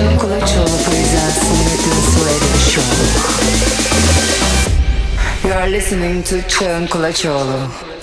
Çağın Kulaçoğlu presents Smith Radio Show. You are listening to Çağın Kulaçoğlu.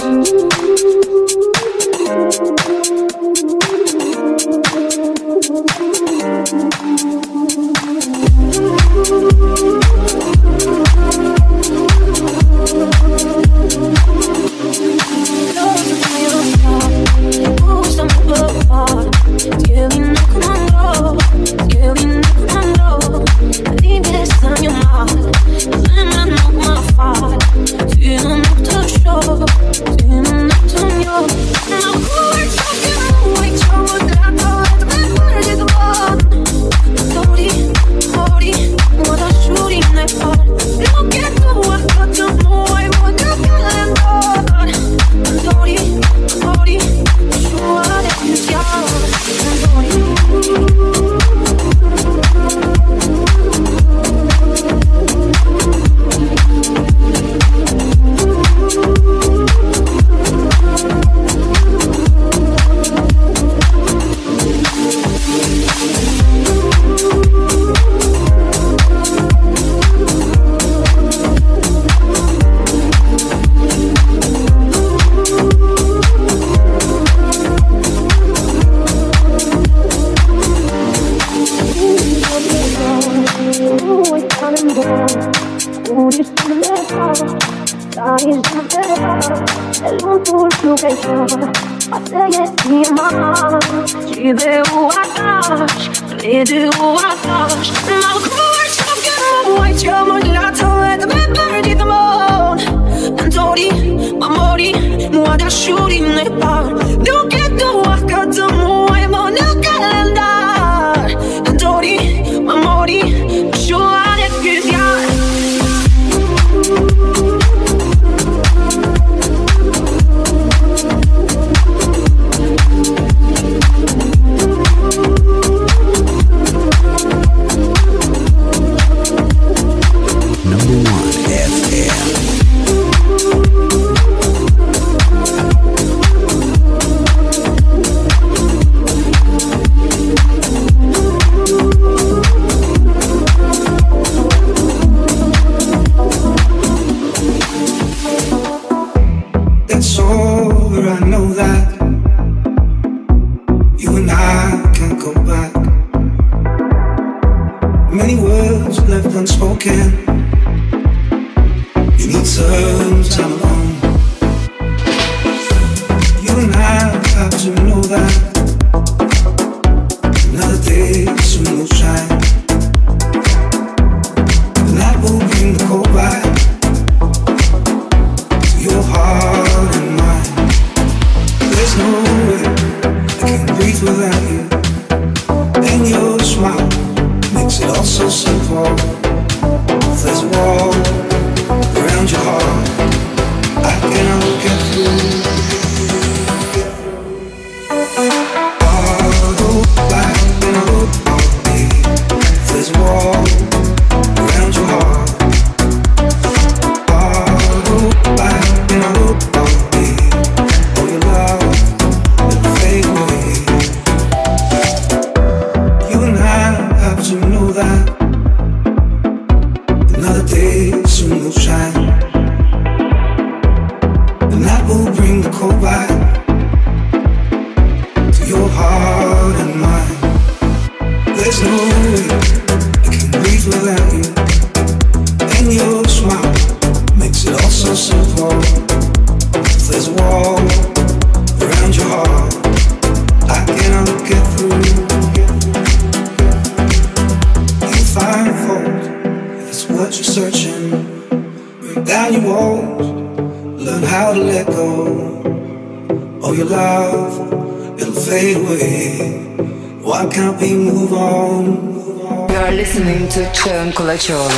Çağın Kulaçoğlu.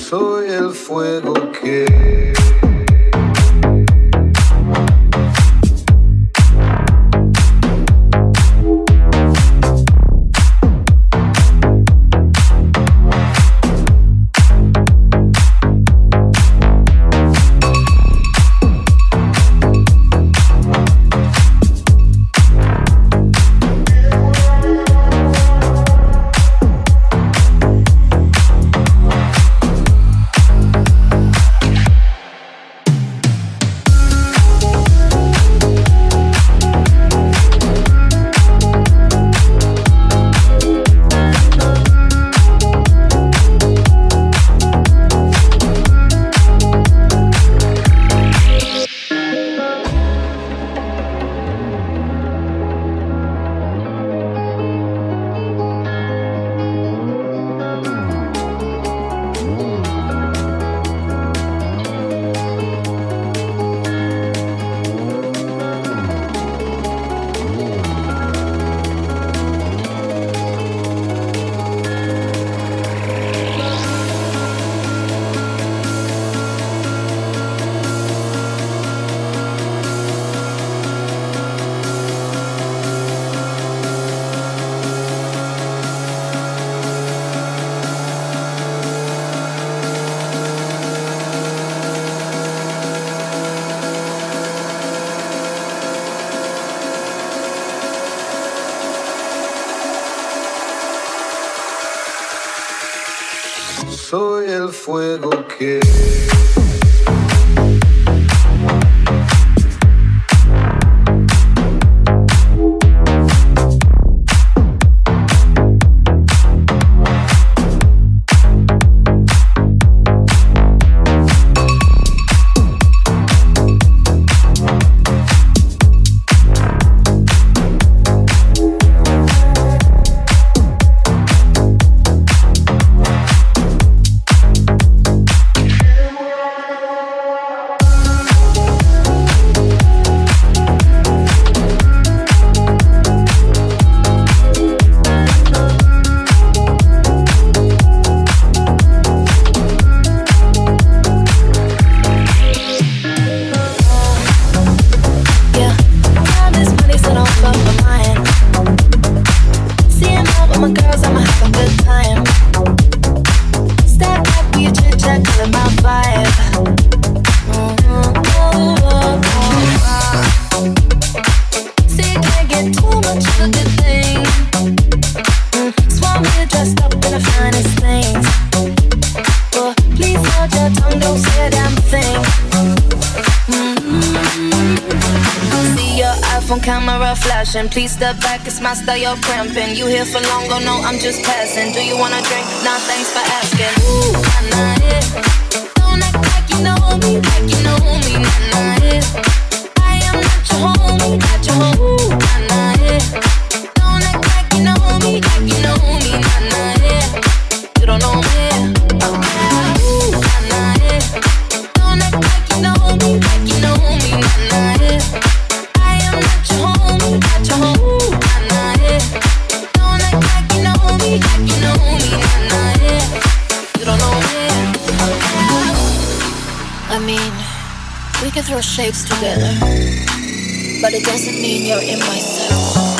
Soy el fuego que soy el fuego que please step back, it's my style, you're cramping. You here for long, oh no, I'm just passing. Do you wanna drink? Nah, thanks for asking. Ooh, nah, nah, yeah. Don't act like you know me, nah, nah, yeah. I am not your homie, not your homie. Ooh, nah, nah, yeah. Don't act like you know me, nah, nah, yeah. You don't know me, ooh, nah, nah, yeah. Don't act like you know me, nah, nah, yeah. I am not your homie, not your homie. Ooh, nah, nah, yeah. Don't act like you know me, nah, nah, yeah. You don't know me. I mean, we can throw shapes together, but it doesn't mean you're in my circle.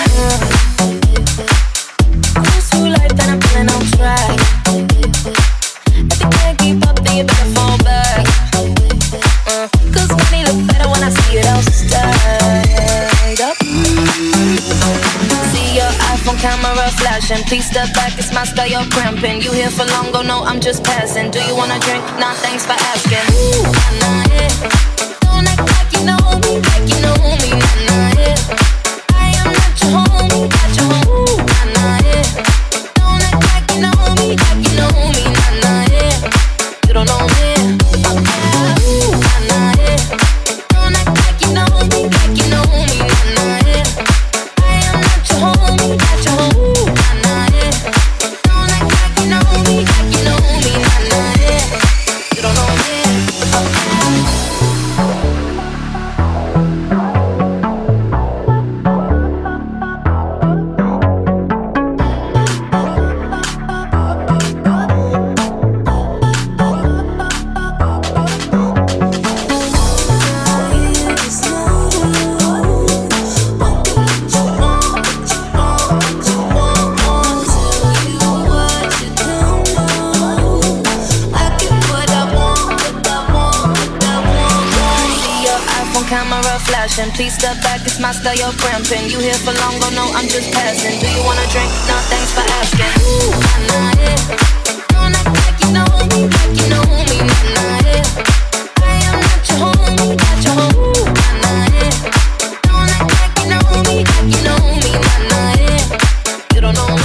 Cruise through life and I'm feeling on track. If you can't keep up, then you better fall back. Cause money look better when I see it all stacked up. See your iPhone camera flashing. Please step back, it's my style, you're cramping. You here for long, oh no, I'm just passing. Do you wanna drink? Nah, thanks for asking. Ooh, nah, nah, yeah. Don't act like you know me, nah, nah, yeah. I am not your homie, not your homie. Ooh, nah, nah, yeah. Don't act like you know me, nah, nah, yeah. You don't know me. Ooh, nah, nah, yeah. Don't act like you know me, nah, nah, yeah. I am not your homie, not your homie. Ooh, nah, nah, yeah. Don't act like you know me, nah, nah, yeah. You don't know me. flashing. Please step back, it's my style, you're cramping. You here for long, oh no, I'm just passing. Do you wanna drink? Nah, thanks for asking. Ooh, nah, yeah. Don't act like you know me, like you know me, nah, yeah. I am not your homie, not your homie, nah, yeah. Don't act like you know me, like you know me, nah, yeah. You don't know me.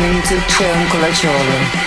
listening to C'è un Colacciolo.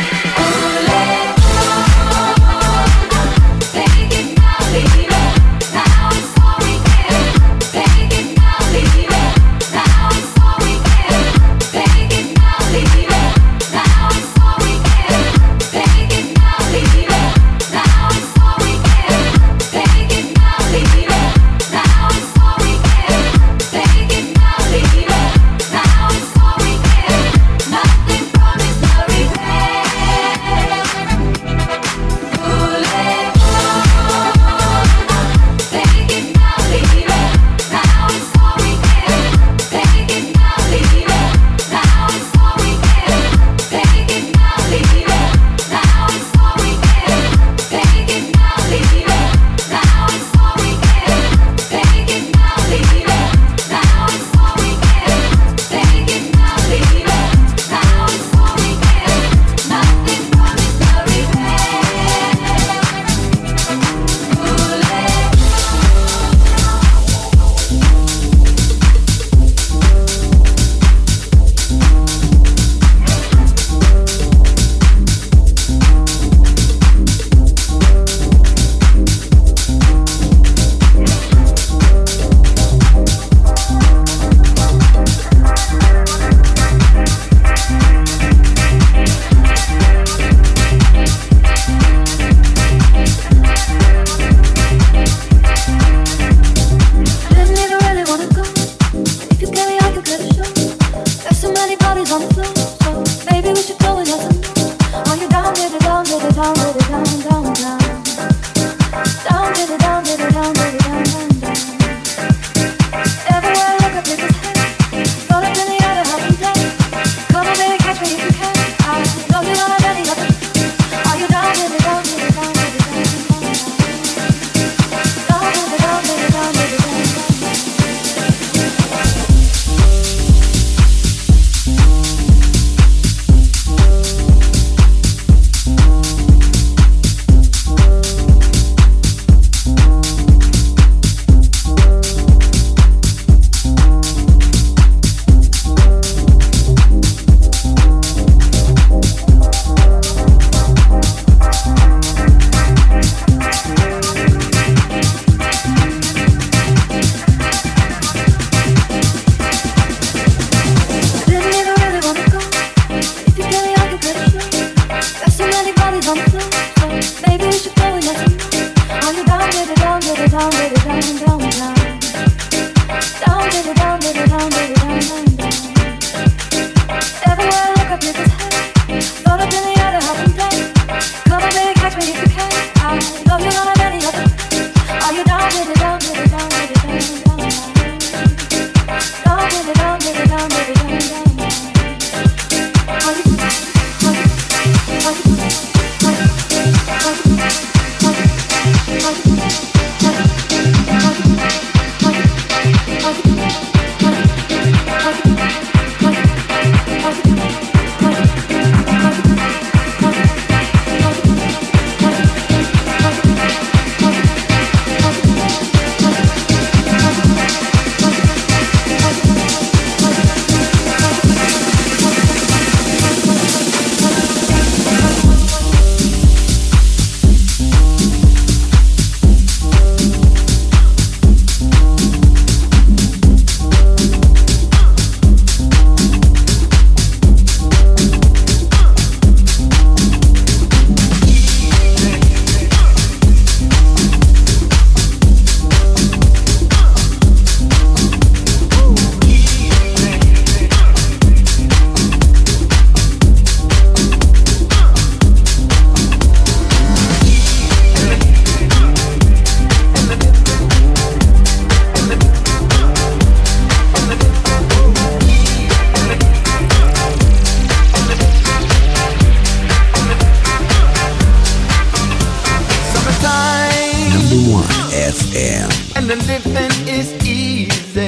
and the living is easy.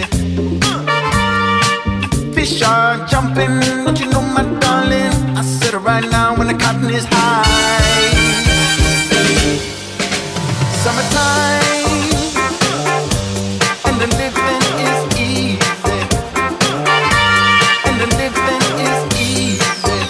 Fish are jumping, don't you know, my darling? I said it right now when the cotton is high. Summertime, and the living is easy, and the living is easy.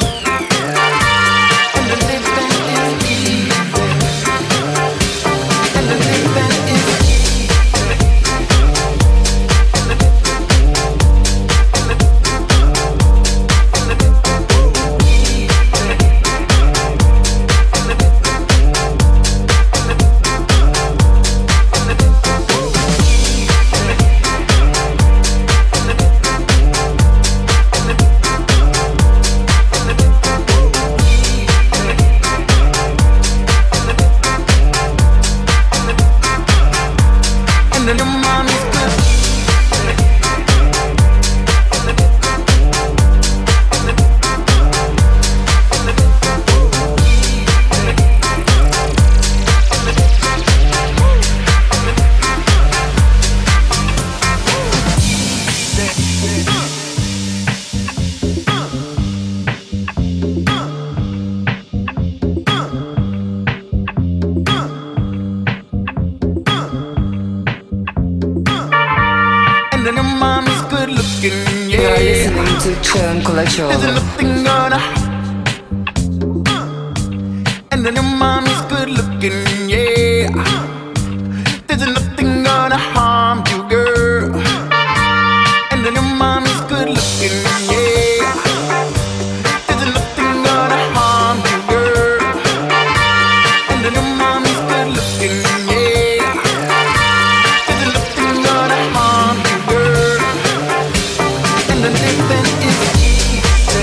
C'è un colacciolo. There's nothing gonna and then your mommy's good looking, yeah. There's nothing gonna harm you, girl. And then your mommy's good looking, yeah. There's nothing gonna harm you, girl. And then your mommy's good looking, yeah. There's nothing gonna harm you, girl. And the living is easy.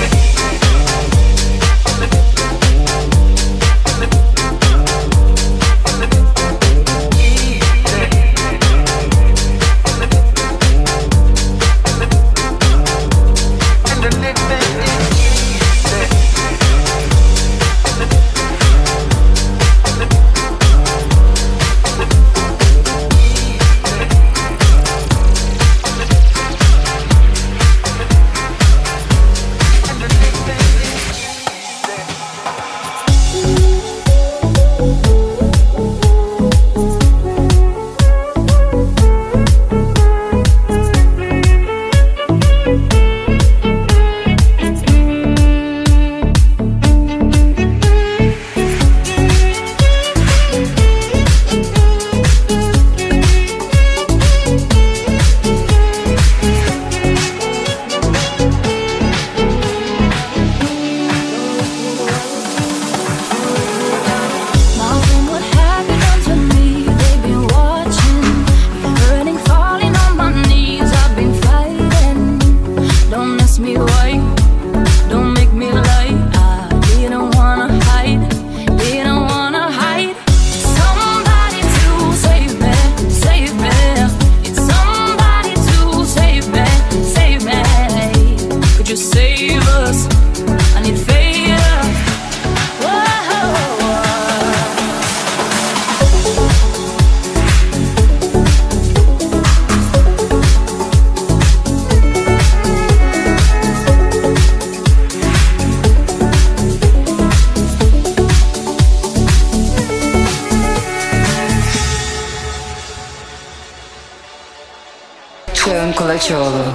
C'è un colacciolo.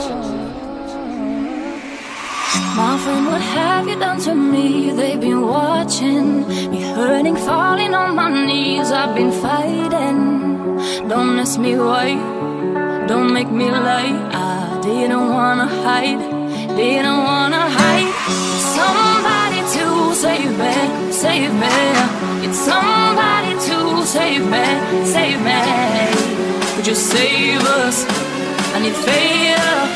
My friend, what have you done to me? They've been watching me hurting, falling on my knees. I've been fighting. Don't ask me why, don't make me lie. I didn't wanna hide, didn't wanna hide. Somebody to save me, save me. It's somebody to save me, save me. Could you save us? I need faith.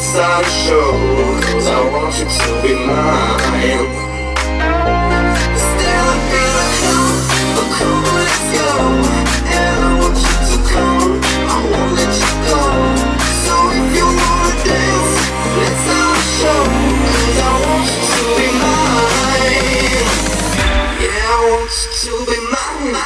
let's start a show, 'cause I want you to be mine. Stand up in a club, let's go. And I want you to come, I won't let you go. So if you wanna dance, let's start a show, 'cause I want you to be mine. Yeah, I want you to be mine.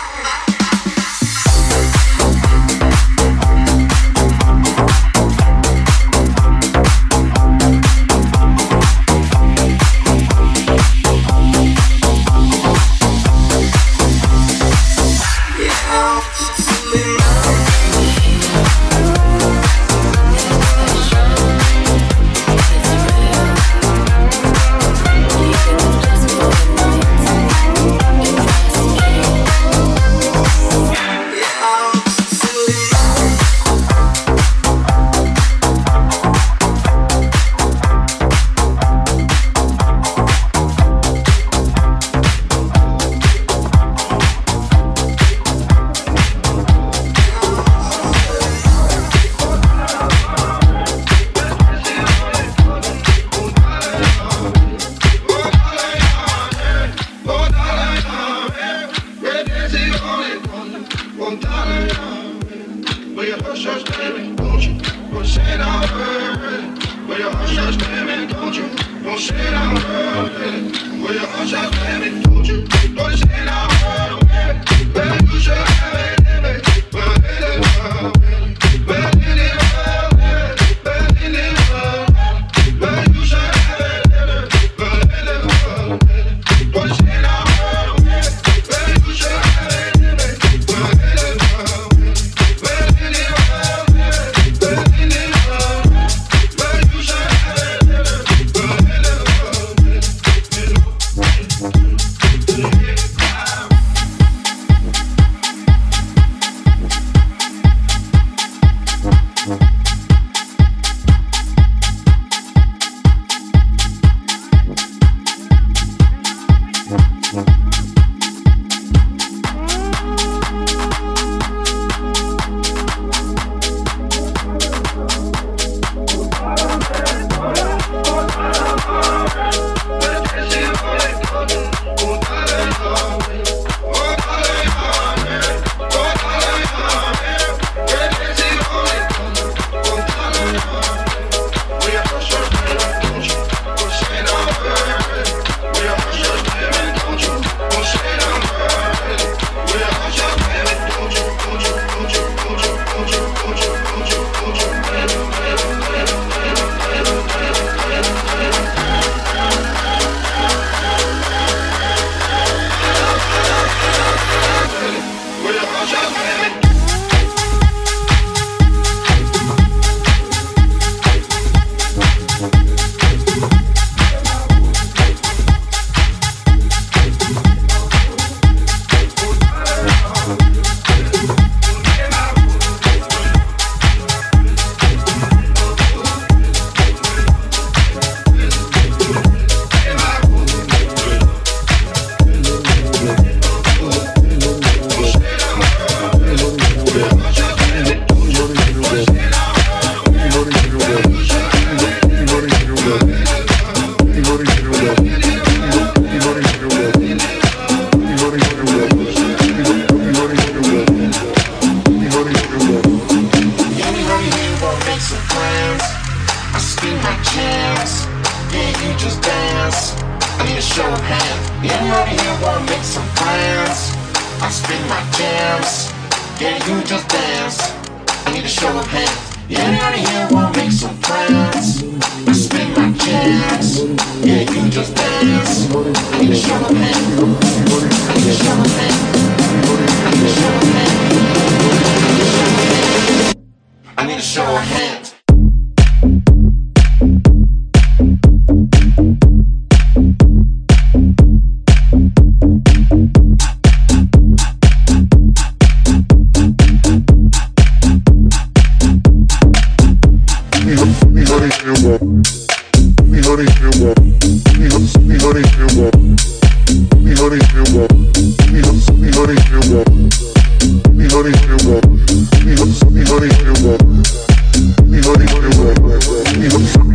Me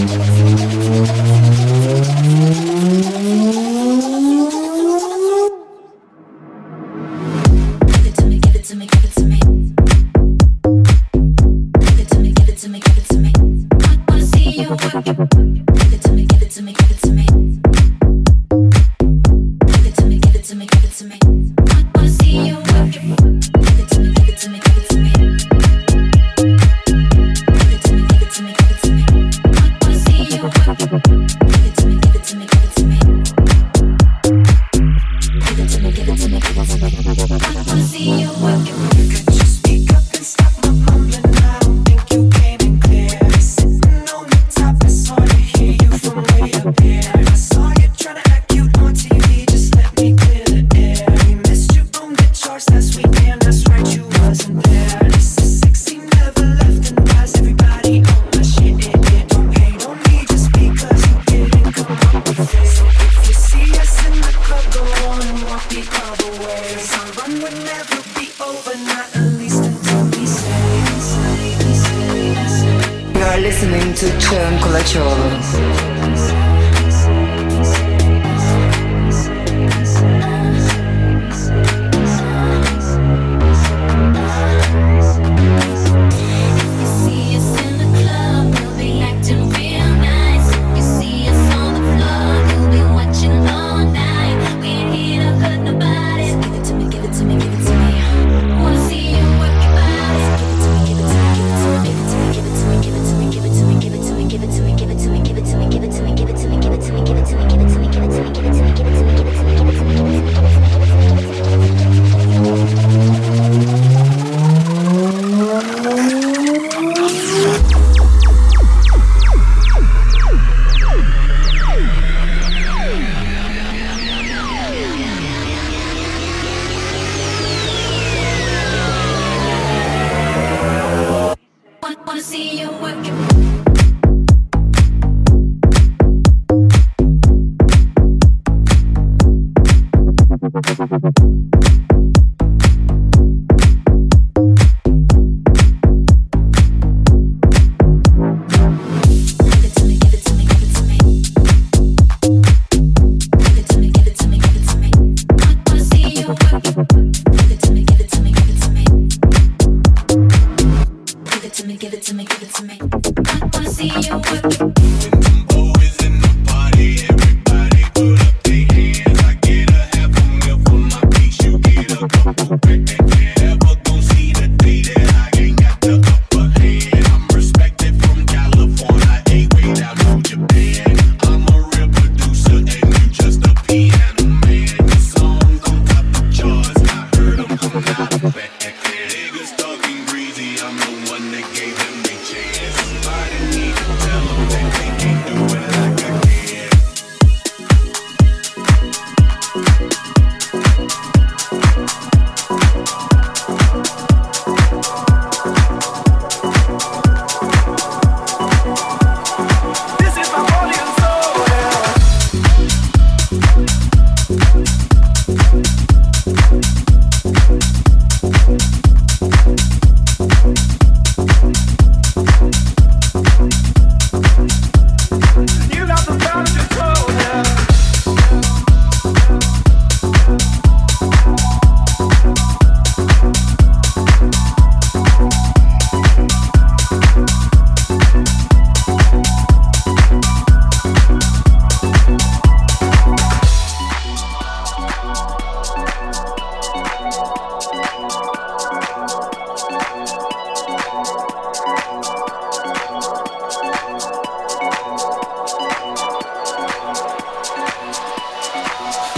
Never gon' see the day that I ain't got the upper hand. I'm respected from California.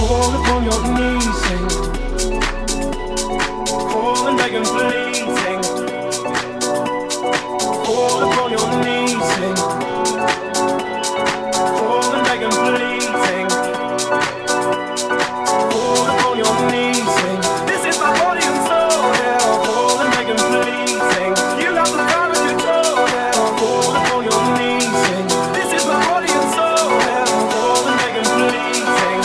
Fall upon your knees, sing. Fall and beg and plead, sing. Fall upon your knees, sing. Fall and beg and plead, sing. Fall upon your knees, sing. This is my body and soul, yeah. Fall and beg and plead, sing. You got the power to control, yeah. Fall upon your knees, sing. This is my body and soul, yeah. Fall and beg and plead, sing.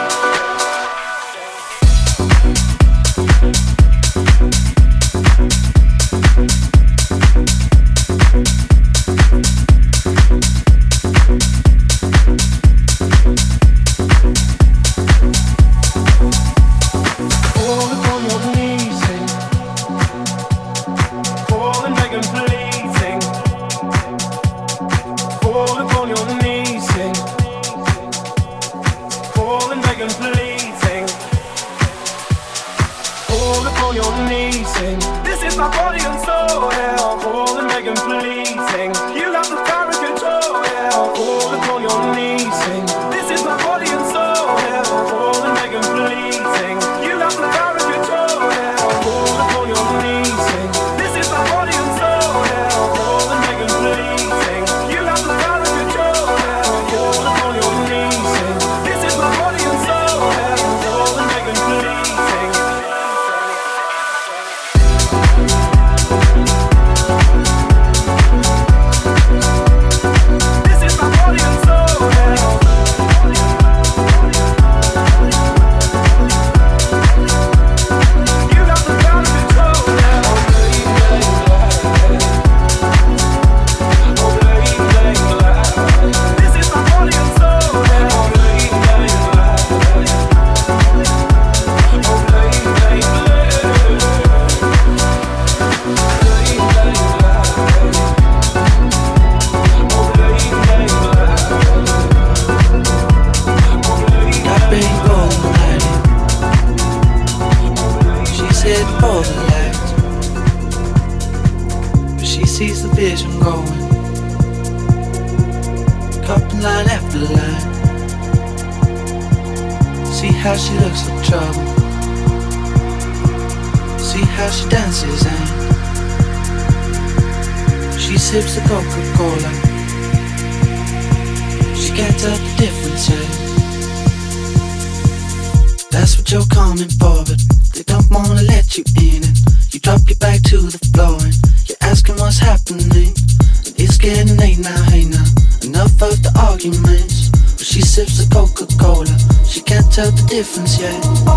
Difference, yeah.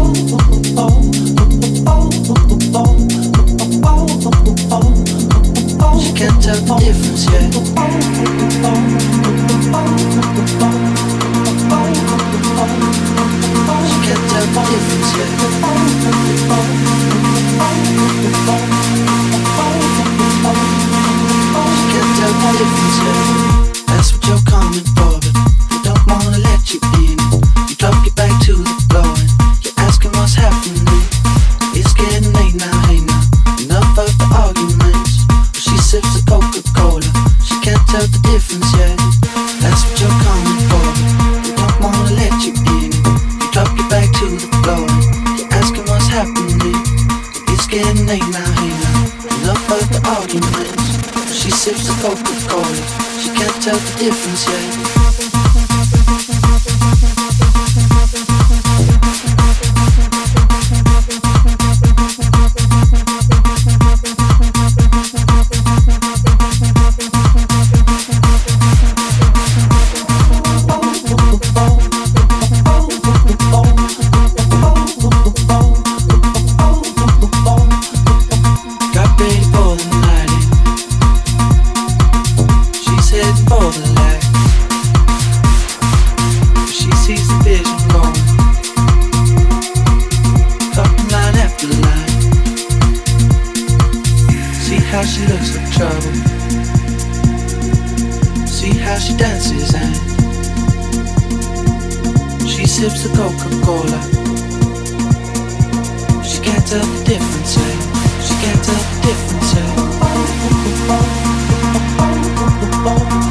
She can't tell the difference, yeah. She can't tell the difference, yeah. She can't tell the difference, yeah. That's what you're coming for, but they don't wanna let you in. You drop your back to the floor and you're asking what's happening. It's getting late now, hey now. Enough of the arguments. Well, she sips the Coca-Cola. She can't tell the difference yet. That's what you're coming for. They don't wanna let you in. You drop your back to the floor and you're asking what's happening. It's getting late now, hey now. Enough of the arguments. Well, she sips the Coca-Cola. She can't tell the difference yet.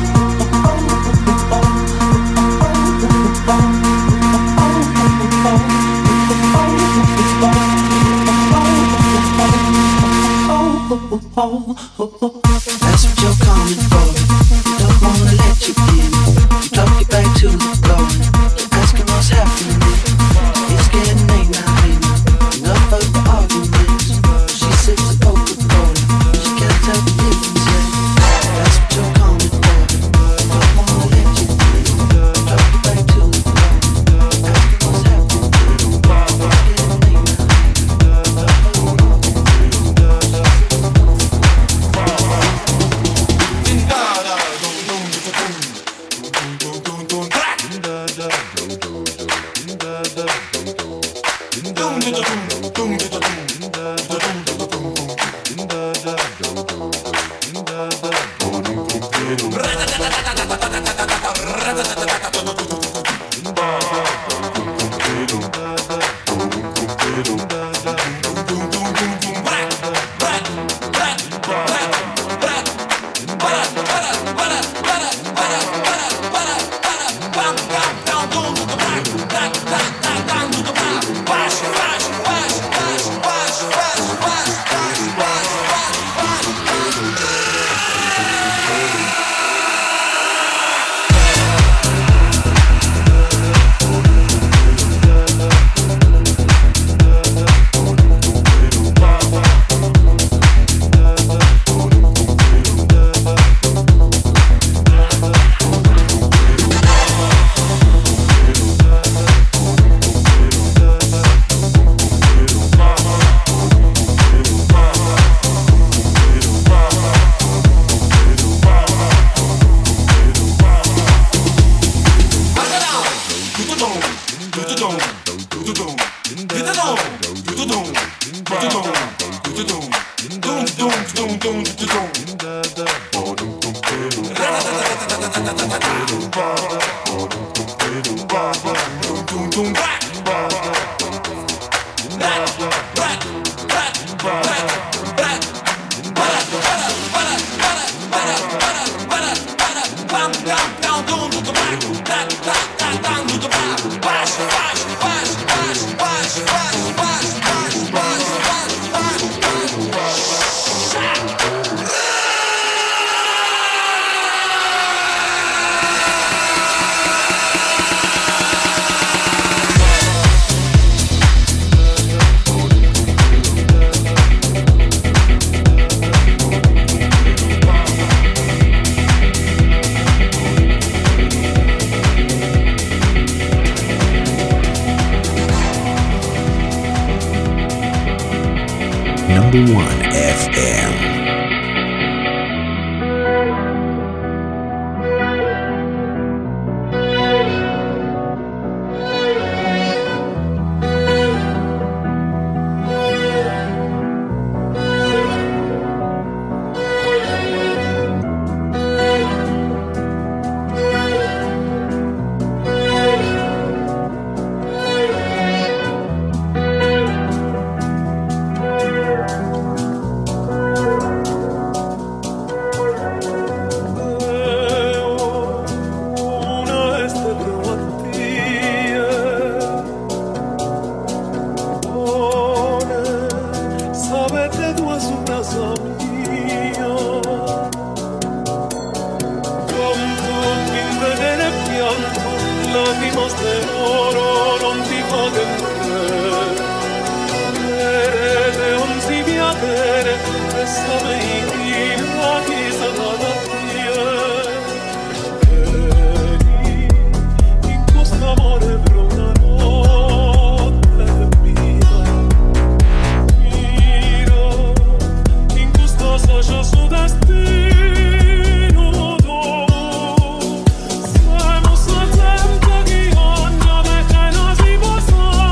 Oh, Oh, oh, oh. That's what you're coming for. You don't wanna let you in. You drop your back to the floor. You're asking what's happening. It's getting late now, enough of the arguments. She sips a Coca-Cola. She can't tell the difference yet. That's what you're coming for. You don't wanna let you in. You drop your back to the floor. You're asking what's happening. It's getting late now. Number 1 FM.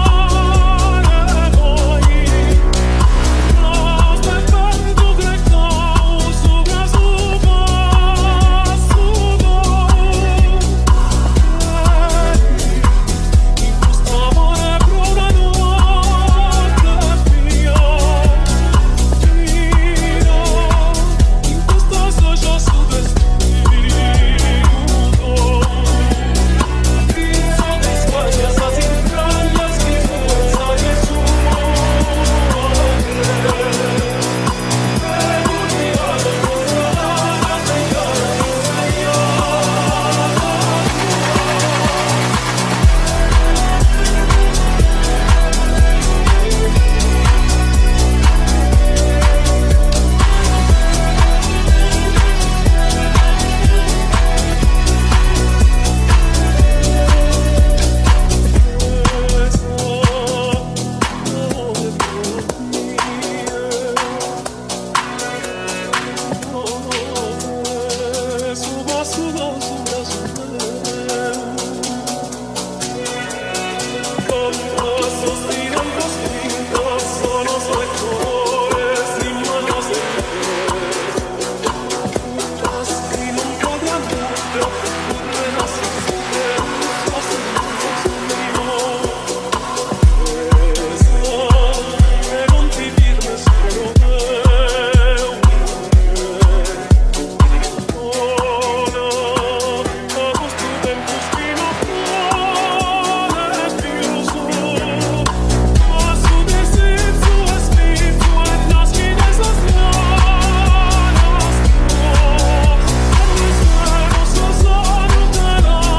Don't Don't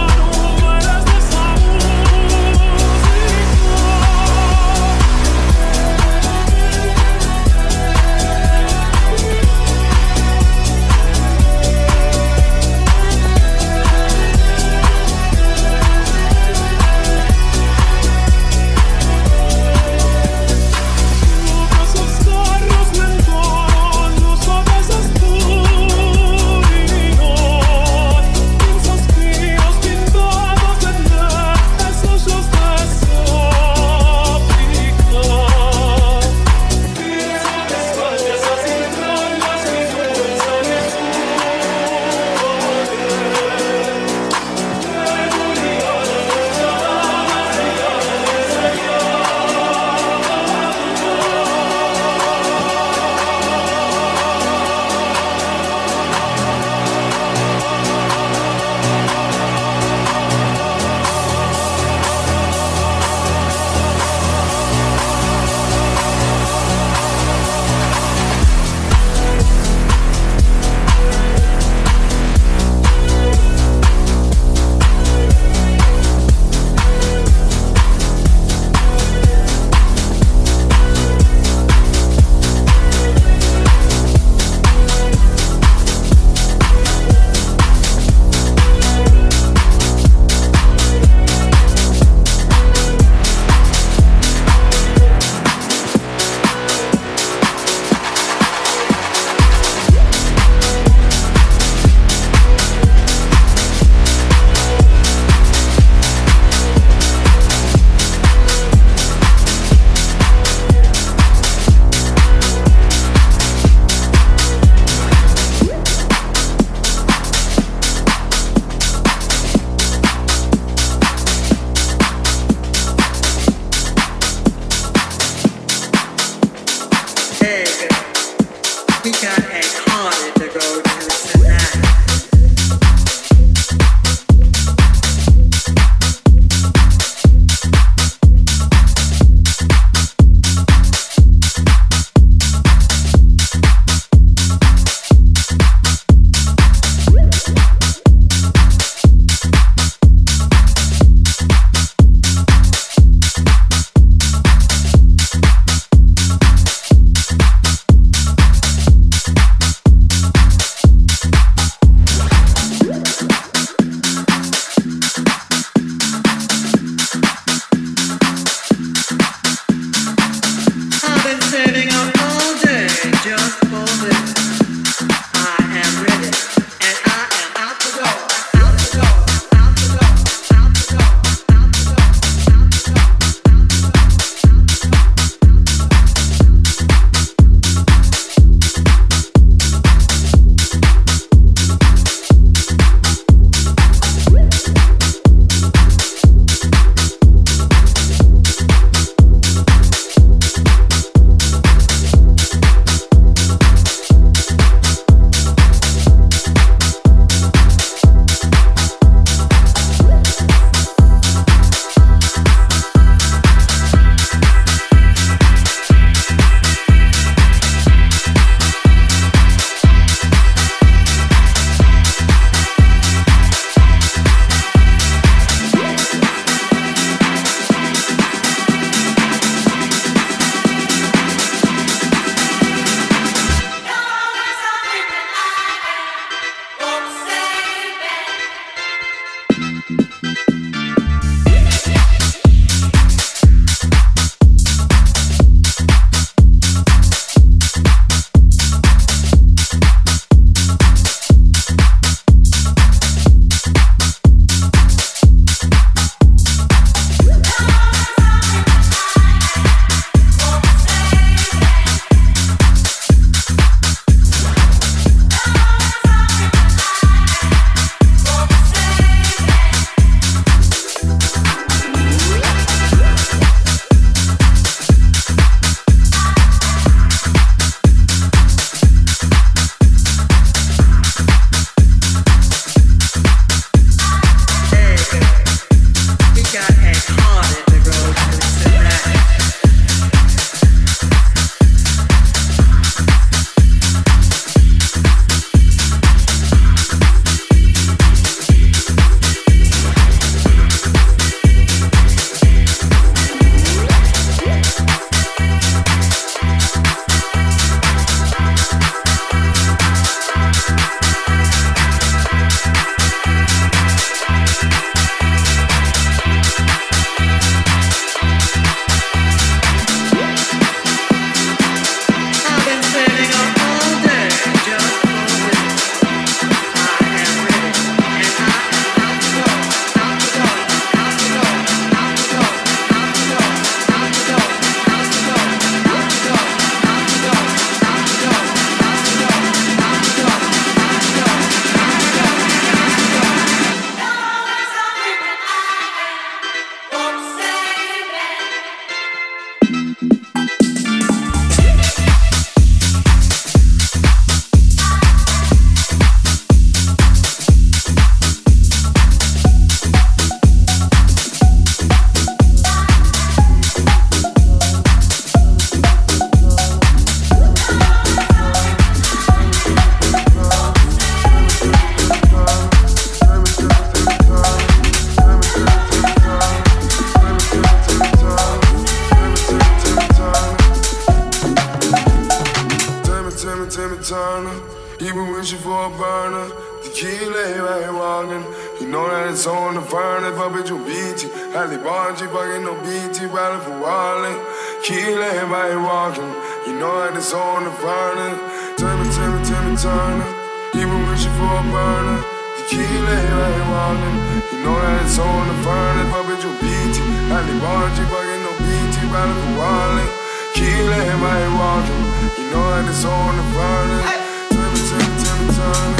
it's on the furnace, fuck bitch, you BT. Halle Bonji, fucking no BT, riding for Wally. Kill everybody walking, you know that it's on the furnace. Timmy Turner, even wishing for a burner. The kill everybody walking, you know that it's on the furnace, fuck bitch, you BT. Halle Bonji, fucking no BT, riding for Wally. Kill everybody walking, you know that it's on the furnace. Timmy Turner.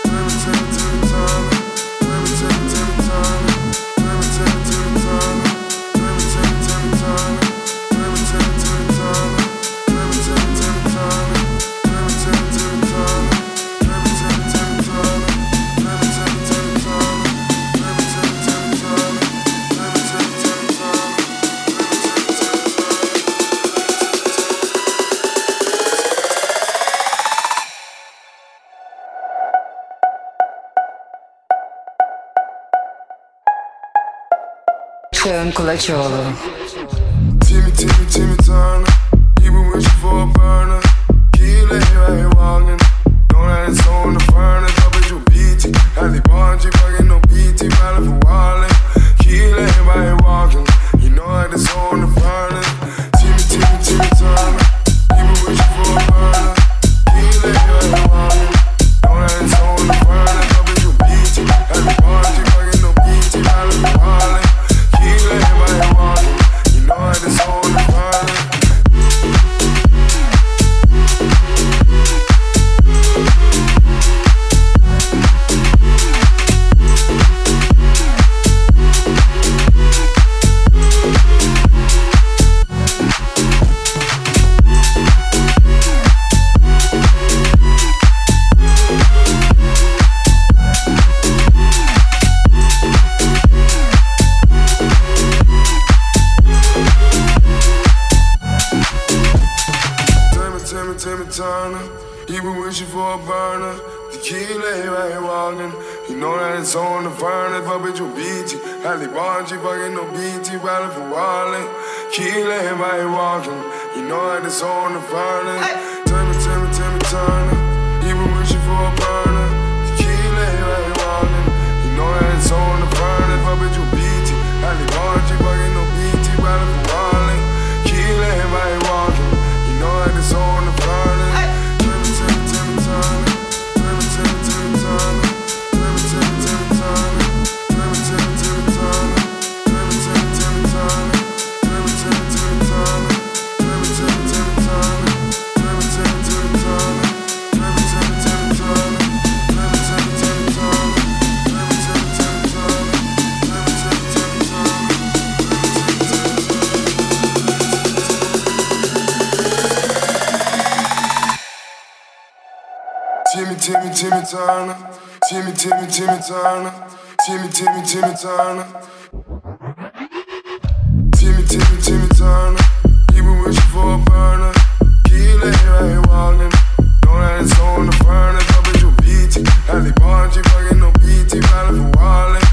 Kulaçoğlu. Timmy Turner, even wishing for a burner. Kill everybody walking, know that it's on the furnace. Fuck bitch, you BT. Halle Bonji, fucking no BT, riding for Wally. Kill everybody walking, you know that it's on the furnace. Timmy Turner, even wishing for a burner. Kill everybody walking, know that it's on the furnace. Fuck bitch, you BT. Halle Bonji, fucking no BT, riding for Wally. Everybody walking, you know that it's on the fire. Turner, even wishing for a burner. Tequila, everybody walking, you know that it's on the furnace. Fuck bitch, you BT. Halle Bonji, fucking no BT, riding for Wally. Kill everybody walking, you know that it's on the furnace. Timmy Turner, even wishing for a burner. Tequila, everybody walking, you know that it's on the furnace. Fuck bitch, you BT. Halle Bonji, fucking no BT, riding for Wally. Kill everybody walking, you know that it's on the furnace. Timmy Turner, Timmy Turner, Timmy Turner, Timmy Turner, even wishing for a burner. Kill everybody walking, know that it's on the furnace. Fuck bitch, you BT. Halle Bonji, fucking no BT, riding for Wally.